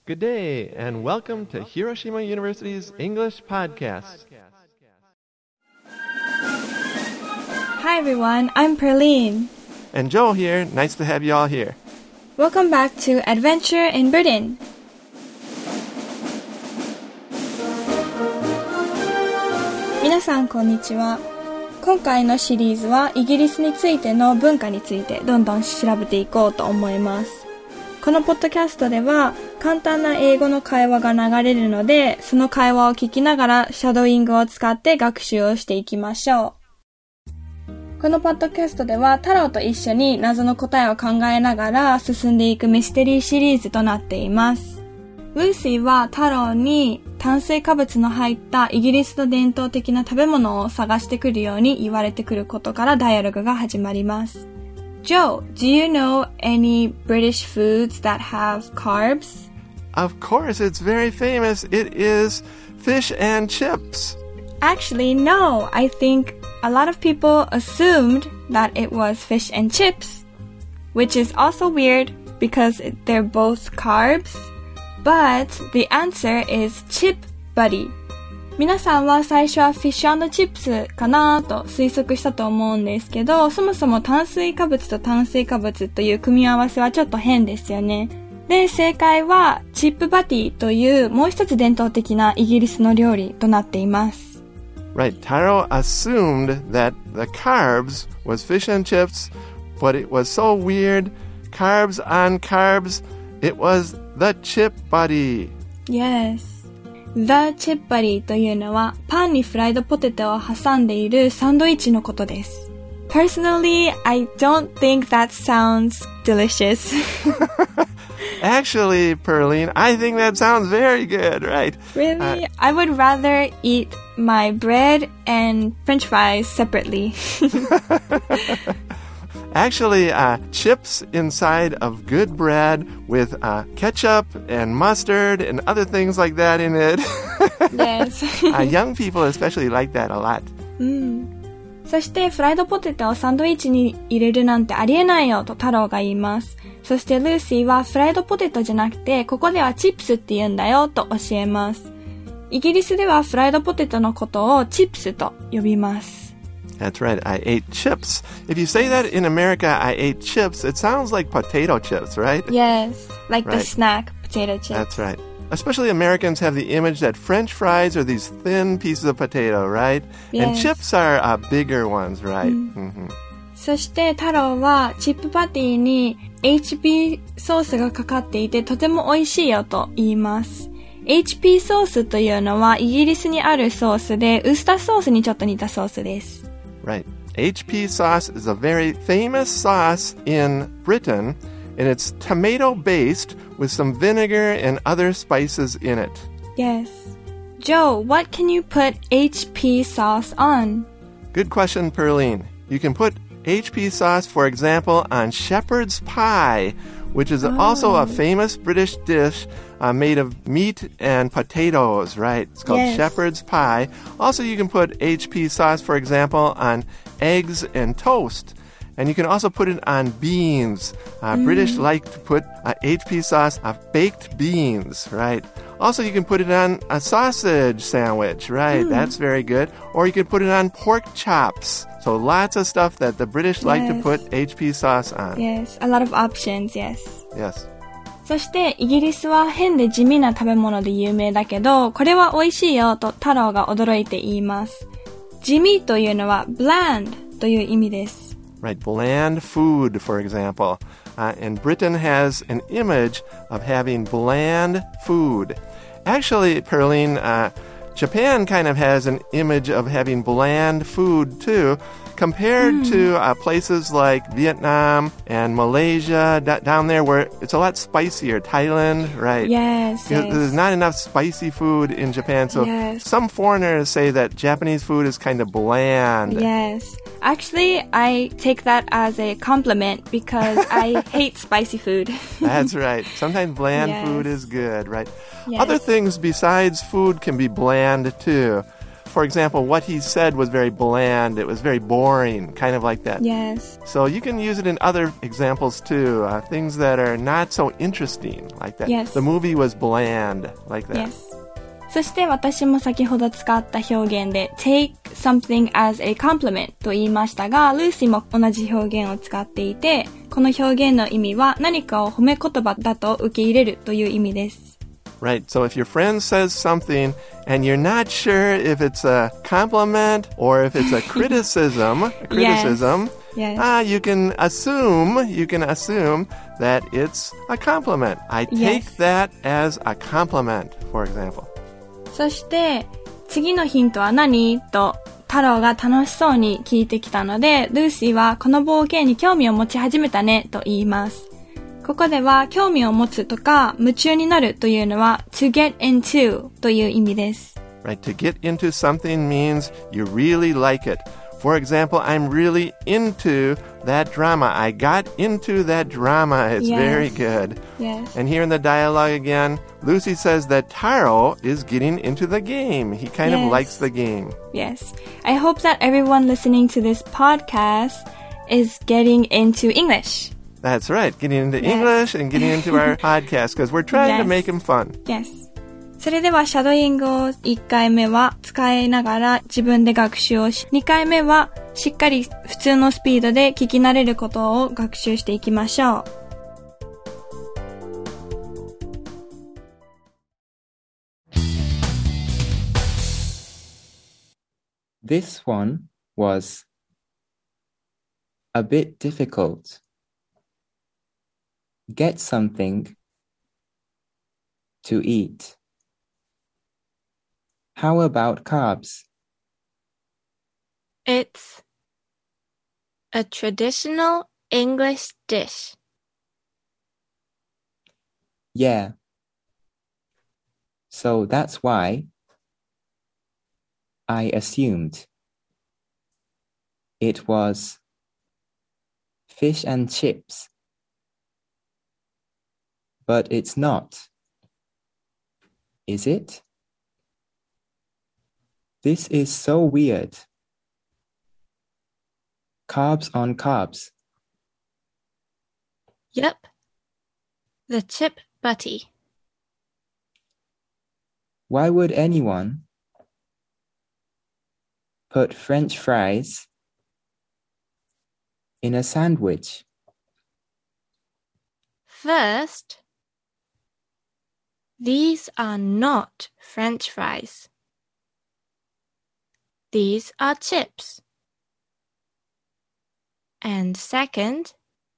Good day, and welcome to Hiroshima University's English Podcast. Hi everyone, I'm Perlene. And Joel here. Nice to have you all here. Welcome back to Adventure in Britain. 皆さんこんにちは。今回のシリーズはイギリスについての文化についてどんどん調べていこうと思います。このポッドキャストでは簡単な英語の会話が流れるので、その会話を聞きながらシャドーイングを使って学習をしていきましょう。このポッドキャストでは太郎と一緒に謎の答えを考えながら進んでいくミステリーシリーズとなっています。ルーシーは太郎に炭水化物の入ったイギリスの伝統的な食べ物を探してくるように言われてくることからダイアログが始まります。Joe, do you know any British foods that have carbs? Of course, it's very famous. It is fish and chips. Actually, no. I think a lot of people assumed that it was fish and chips, which is also weird because they're both carbs. But the answer is Chip Buddy. 皆さんは最初はフィッシュ&チップスかなと推測したと思うんですけど、そもそも炭水化物と炭水化物という組み合わせはちょっと変ですよね。で、正解はチップバティというもう一つ伝統的なイギリスの料理となっています。 Right, Taro assumed that the carbs was fish and chips, but it was so weird. Carbs on carbs, it was the chip buddy. Yes.The chip buddy というのはパンにフライドポテトを挟んでいるサンドイッチのことです。Personally, I don't think that sounds delicious. Actually, Perlene, I think that sounds very good, right? Really? I would rather eat my bread and French fries separately. Actually, chips inside of good bread with ketchup and mustard and other things like that in it. Yes. Young people especially like that a lot. そしてフライドポテトをサンドイッチに入れるなんてありえないよと太郎が言います。そしてルーシーはフライドポテトじゃなくてここではチップスって言うんだよと教えます。イギリスではフライドポテトのことをチップスと呼びます。 That's right. I ate chips. If you say that in America, I ate chips, it sounds like potato chips, right? Yes, like the snack potato chips. That's right. Especially Americans have the image that French fries are these thin pieces of potato, right? Yes. And chips are bigger ones, right? Mm-hmm. そして太郎はチップパティに HP ソースがかかっていてとても美味しいよと言います。HP ソースというのはイギリスにあるソースでウスターソースにちょっと似たソースです。 Right. HP sauce is a very famous sauce in Britain, and it's tomato-based with some vinegar and other spices in it. Yes. Joe, what can you put HP sauce on? Good question, Perlene. You can put HP sauce, for example, on shepherd's pie, which is also a famous British dish made of meat and potatoes, right? It's called shepherd's pie. Also, you can put HP sauce, for example, on eggs and toast. And you can also put it on beans. British like to put HP sauce on baked beans, right? Also, you can put it on a sausage sandwich, right? That's very good. Or you can put it on pork chops. So lots of stuff that the British like to put HP sauce on. Yes, a lot of options, yes. Yes. そしてイギリスは変で地味な食べ物で有名だけど、これは美味しいよと太郎が驚いて言います。地味というのは bland という意味です。 Right, bland food, for example. And Britain has an image of having bland food. Actually, Perlene, Japan kind of has an image of having bland food, too, compared to places like Vietnam and Malaysia, down there where it's a lot spicier. Thailand, right? Yes. There's not enough spicy food in Japan, so some foreigners say that Japanese food is kind of bland. Yes. Actually, I take that as a compliment because I hate spicy food. That's right. Sometimes bland food is good, right? Yes. Other things besides food can be bland, too. for example, what he said was very bland. It was very boring, kind of like that. Yes. So you can use it in other examples too. Things that are not so interesting, like that. Yes. The movie was bland, like that. Yes. そして私も先ほど使った表現で take something as a compliment と言いましたが、ルーシーも同じ表現を使っていて、この表現の意味は何かを褒め言葉だと受け入れるという意味です。 Right. So if your friend says something and you're not sure if it's a compliment or if it's a criticism, Yes. you can assume that it's a compliment. I take that as a compliment, for example. そして次のヒントは何と太郎が楽しそうに聞いてきたので、ルーシーはこの冒険に興味を持ち始めたねと言います。ここでは興味を持つとか夢中になるというのは to get into という意味です。 Right, to get into something means you really like it. For example, I'm really into that drama. I got into that drama. It's very good. Yes. And here in the dialogue again, Lucy says that Taro is getting into the game. He kind of likes the game. Yes. I hope that everyone listening to this podcast is getting into English. That's right. Getting into English and getting into our podcast because we're trying to make them fun. Yes. それではシャドーイングを1回目は使いながら自分で学習をし、2回目はしっかり普通のスピードで聞き慣れることを学習していきましょう。 This one was a bit difficult. Get something to eat. How about carbs? It's a traditional English dish. Yeah. So that's why I assumed it was fish and chips. But it's not. Is it? This is so weird. Carbs on carbs. Yep. The chip butty. Why would anyone put French fries in a sandwich? First, these are not French fries. These are chips. And second,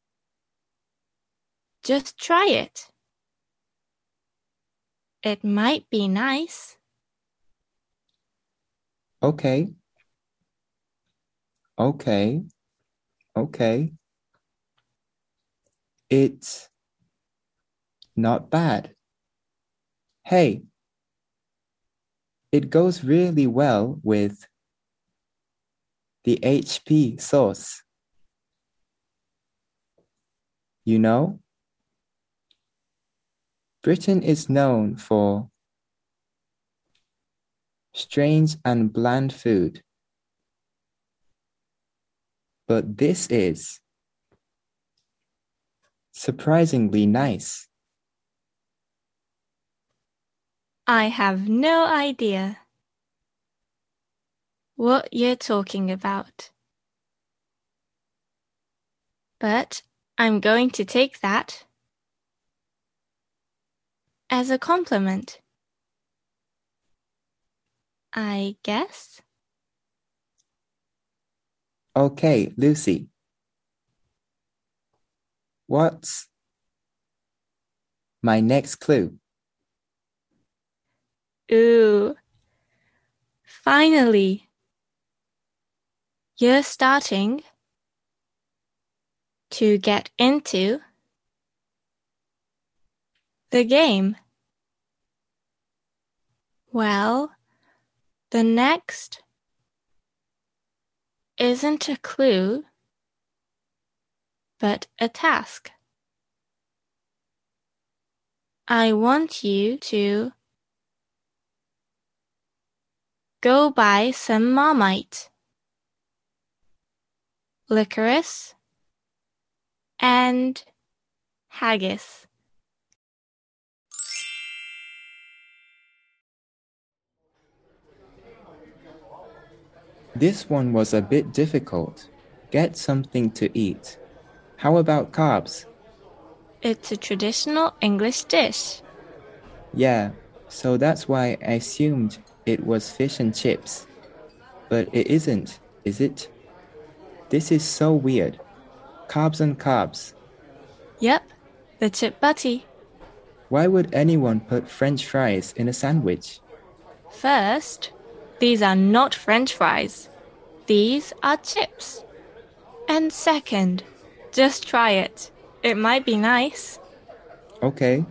just try it. It might be nice. Okay. It's not bad. Hey, it goes really well with the HP sauce. You know, Britain is known for strange and bland food. But this is surprisingly nice. I have no idea what you're talking about. But I'm going to take that as a compliment. I guess. Okay, Lucy. What's my next clue? Ooh. Finally. You're starting to get into the game. Well, the next isn't a clue, but a task. I want you to go buy some Marmite, licorice, and haggis. This one was a bit difficult. Get something to eat. How about carbs? It's a traditional English dish. Yeah, so that's why I assumed it was fish and chips. But it isn't, is it? This is so weird. Carbs and carbs. Yep, the chip butty. Why would anyone put French fries in a sandwich? First, these are not French fries. These are chips. And second, just try it. It might be nice. Okay.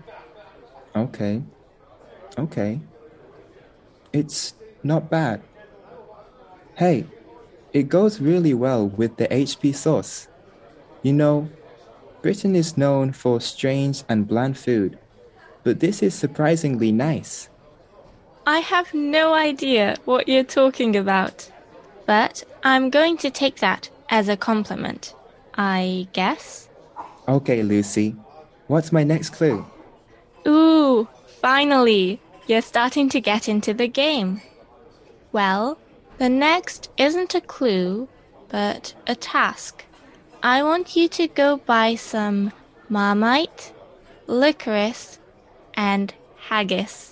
It's not bad. Hey, it goes really well with the HP sauce. You know, Britain is known for strange and bland food, but this is surprisingly nice. I have no idea what you're talking about, but I'm going to take that as a compliment, I guess. Okay, Lucy, what's my next clue? Ooh, finally, you're starting to get into the game. Well, the next isn't a clue, but a task. I want you to go buy some Marmite, licorice, and haggis.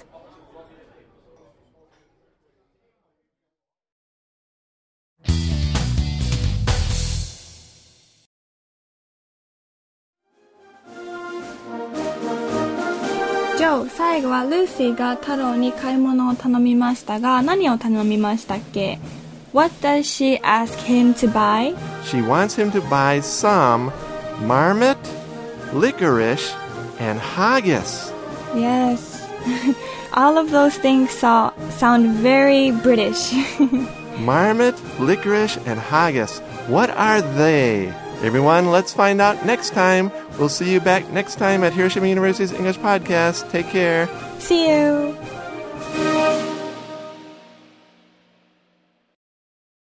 Joe、最後はルーシーが太郎に買い物を頼みましたが、何を頼みましたっけ？ What does she ask him to buy? She wants him to buy some marmot, licorice, and haggis. Yes. All of those things sound very British. Marmot, licorice, and haggis. What are they? Everyone, let's find out next time. We'll see you back next time at Hiroshima University's English Podcast. Take care. See you.